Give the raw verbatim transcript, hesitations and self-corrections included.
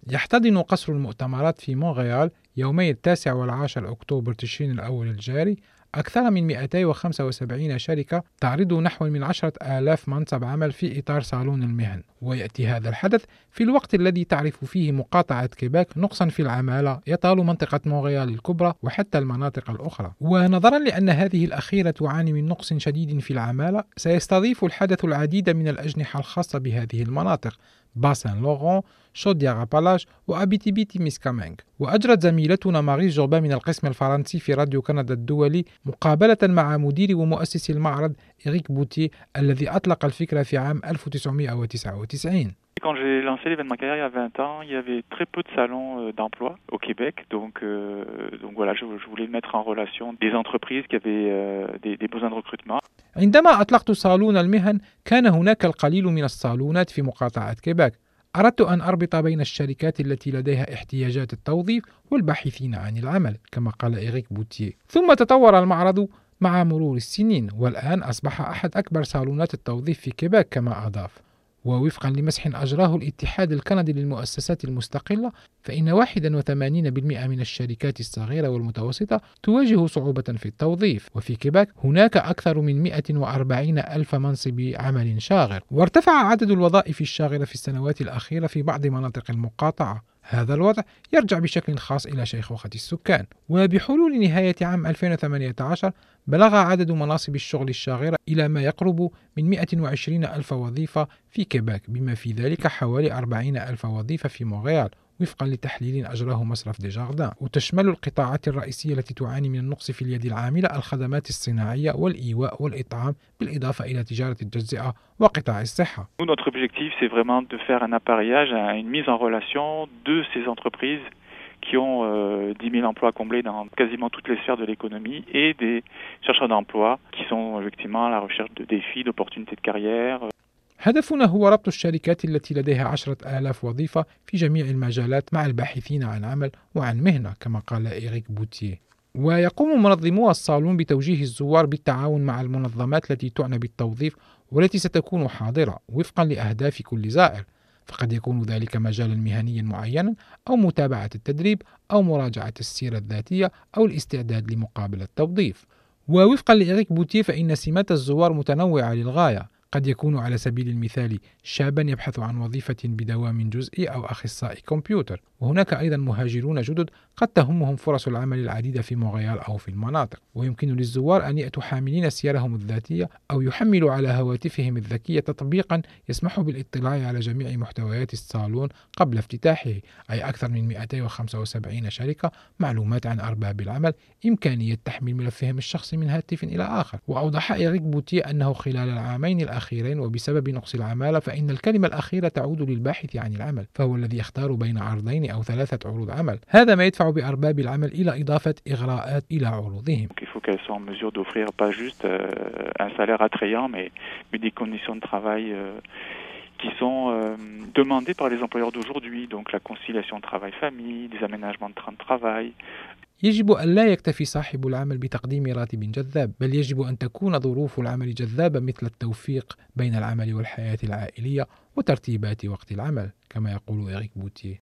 يحتضن قصر المؤتمرات في مونريال يومي التاسع والعاشر أكتوبر تشرين الأول الجاري أكثر من مئتين وخمسة وسبعين شركة تعرض نحو من عشرة آلاف منصب عمل في إطار صالون المهن، ويأتي هذا الحدث في الوقت الذي تعرف فيه مقاطعة كيباك نقصا في العمالة يطال منطقة مونريال الكبرى وحتى المناطق الأخرى. ونظرا لأن هذه الأخيرة تعاني من نقص شديد في العمالة، سيستضيف الحدث العديد من الأجنحة الخاصة بهذه المناطق: باسان لوران، شودياغ أبالاش، وأبيتيبيتي ميسكامينغ. وأجرت زميلتنا ماريس جوربان من القسم الفرنسي في راديو كندا الدولي مقابلة مع مدير ومؤسس المعرض إريك بوتيه الذي أطلق الفكرة في عام ألف وتسعمئة وتسعة وتسعين. Quand j'ai lancé l'événement carrière il y a vingt ans, il y avait très peu de salons d'emploi au Québec. Donc, euh, donc voilà, je, je voulais mettre en relation des entreprises qui avaient euh, des, des besoins de recrutement. عندما أطلقت صالون المهن كان هناك القليل من الصالونات في مقاطعة كيباك. أردت أن أربط بين الشركات التي لديها احتياجات التوظيف والباحثين عن العمل، كما قال إريك بوتيه. ثم تطور المعرض مع مرور السنين، والآن أصبح أحد أكبر صالونات التوظيف في كيباك كما أضاف. ووفقا لمسح أجراه الاتحاد الكندي للمؤسسات المستقلة، فإن واحد وثمانين بالمئة من الشركات الصغيرة والمتوسطة تواجه صعوبة في التوظيف، وفي كيباك هناك أكثر من مئة وأربعين ألف منصب عمل شاغر. وارتفع عدد الوظائف الشاغرة في السنوات الأخيرة في بعض مناطق المقاطعة. هذا الوضع يرجع بشكل خاص إلى شيخوخة السكان، وبحلول نهاية عام ألفين وثمانية عشر بلغ عدد مناصب الشغل الشاغرة إلى ما يقرب من مئة وعشرين ألف وظيفة في كيباك، بما في ذلك حوالي أربعين ألف وظيفة في مونريال وفقا لتحليل أجراه مصرف ديجاردان. وتشمل القطاعات الرئيسية التي تعاني من النقص في اليد العاملة الخدمات الصناعية والإيواء والإطعام، بالإضافة إلى تجارة التجزئة وقطاع الصحة. Notre objectif, c'est vraiment de faire un appareillage, une mise en relation de ces entreprises qui ont euh, dix mille emplois comblés dans quasiment toutes les sphères de l'économie et des chercheurs d'emploi qui sont effectivement à la recherche de défis, d'opportunités de carrière. هدفنا هو ربط الشركات التي لديها عشرة آلاف وظيفة في جميع المجالات مع الباحثين عن عمل وعن مهنة، كما قال إريك بوتيه. ويقوم منظمو الصالون بتوجيه الزوار بالتعاون مع المنظمات التي تعنى بالتوظيف والتي ستكون حاضرة وفقا لأهداف كل زائر، فقد يكون ذلك مجالا مهنيا معينا أو متابعة التدريب أو مراجعة السيرة الذاتية أو الاستعداد لمقابلة التوظيف. ووفقا لإريك بوتيه فإن سمات الزوار متنوعة للغاية. قد يكون على سبيل المثال شابا يبحث عن وظيفة بدوام جزئي أو أخصائي كمبيوتر، وهناك أيضا مهاجرون جدد قد تهمهم فرص العمل العديدة في مونريال أو في المناطق. ويمكن للزوار أن يأتوا حاملين سيرهم الذاتية أو يحملوا على هواتفهم الذكية تطبيقا يسمح بالاطلاع على جميع محتويات الصالون قبل افتتاحه، أي أكثر من مئتين وخمسة وسبعين شركة، معلومات عن أرباب العمل، إمكانية تحميل ملفهم الشخصي من هاتف إلى آخر. وأوضح إريك بوتيه أنه خلال العامين الأخيرين وبسبب نقص العمالة فإن الكلمة الأخيرة تعود للباحث عن العمل، فهو الذي يختار بين عرضين أو ثلاثة عروض عمل. هذا ما يدفع بأرباب العمل إلى إضافة إغراءات إلى عروضهم. Il faut qu'elles soient en mesure d'offrir pas juste un salaire attrayant, mais des conditions de travail qui sont euh, demandées par les employeurs d'aujourd'hui, donc la conciliation travail-famille, des aménagements de temps de travail. يجب أن لا يكتفي صاحب العمل بتقديم راتب جذاب، بل يجب أن تكون ظروف العمل جذابة، مثل التوفيق بين العمل والحياة العائلية وترتيبات وقت العمل، كما يقول إريك بوتيه.